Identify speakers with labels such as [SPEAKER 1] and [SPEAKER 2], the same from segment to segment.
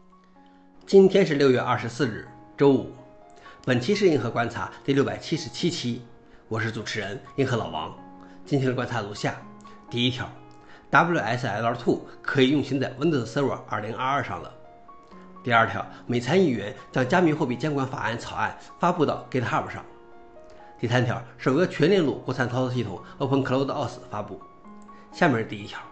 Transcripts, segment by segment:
[SPEAKER 1] 今天是6月24日，周五。本期是硬核观察第677期，我是主持人硬核老王。今天的观察如下：第一条 ，WSL2 可以运行在 Windows Server 2022上了。第二条，美参议员将加密货币监管法案草案发布到 GitHub 上。第三条，首个全链路国产操作系统 OpenCloudOS 发布。下面是第一条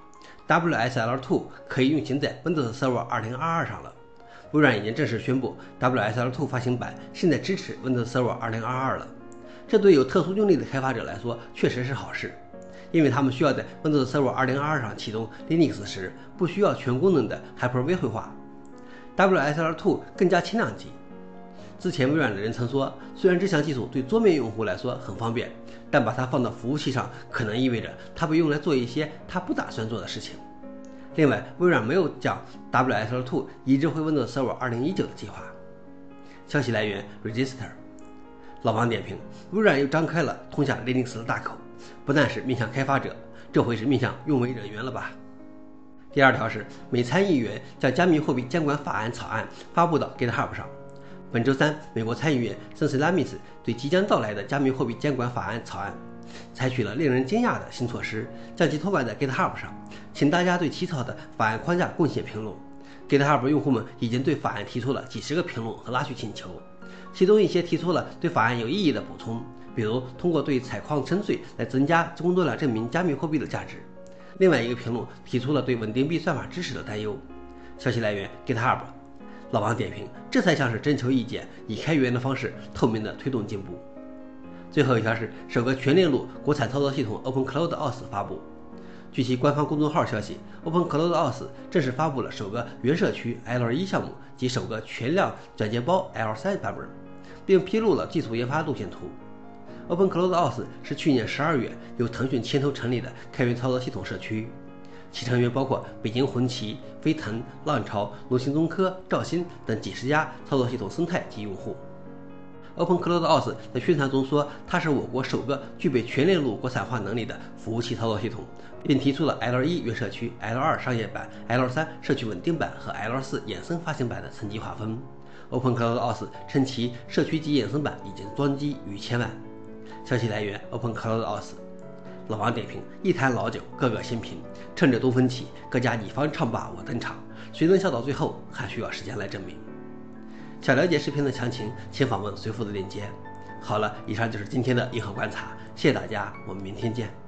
[SPEAKER 1] ，WSL2 可以运行在 Windows Server 2022上了。微软已经正式宣布 WSL2 发行版现在支持 Windows Server 2022了。这对有特殊用例的开发者来说确实是好事，因为他们需要在 Windows Server 2022上启动 Linux 时，不需要全功能的 Hyper-V 绘画。WSL2 更加轻量级。之前微软的人曾说，虽然这项技术对桌面用户来说很方便，但把它放到服务器上，可能意味着它被用来做一些它不打算做的事情。另外，微软没有将 WSL2 移植回 Windows Server 2019的计划。消息来源 Register。老王点评：微软又张开了通向 Linux 的大口，不但是面向开发者，这回是面向用微人员了吧？第二条是，美参议员将加密货币监管法案草案发布到 GitHub 上。本周三，美国参议员森斯拉米斯对即将到来的加密货币监管法案草案采取了令人惊讶的新措施，将其托管在 GitHub 上，请大家对起草的法案框架贡献评论。GitHub 用户们已经对法案提出了几十个评论和拉取请求，其中一些提出了对法案有意义的补充，比如通过对采矿征税来增加工作量证明加密货币的价值。另外一个评论提出了对稳定币算法知识的担忧。消息来源 GitHub。老王点评：这才像是征求意见，以开源的方式透明地推动进步。最后一条是首个全链路国产操作系统 OpenCloudOS 发布。据其官方公众号消息， OpenCloudOS 正式发布了首个原社区 L1 项目及首个全量转接包 L3 版本，并披露了技术研发路线图。OpenCloudOS 是去年12月由腾讯牵头成立的开源操作系统社区，其成员包括北京红旗、飞腾、浪潮、龙行综科、兆新等几十家操作系统生态及用户。OpenCloudOS 在宣传中说，它是我国首个具备全链路国产化能力的服务器操作系统，并提出了 L1 原社区、L2 商业版、L3 社区稳定版和 L4 衍生发行版的层级划分。OpenCloudOS 称其社区级衍生版已经装机逾1000万。消息来源 OpenCloudOS。老王点评：一坛老酒，个个新瓶。趁着东风起，各家你方唱罢我登场。谁能笑到最后，还需要时间来证明。想了解视频的详情，请访问随附的链接。好了，以上就是今天的硬核观察，谢谢大家，我们明天见。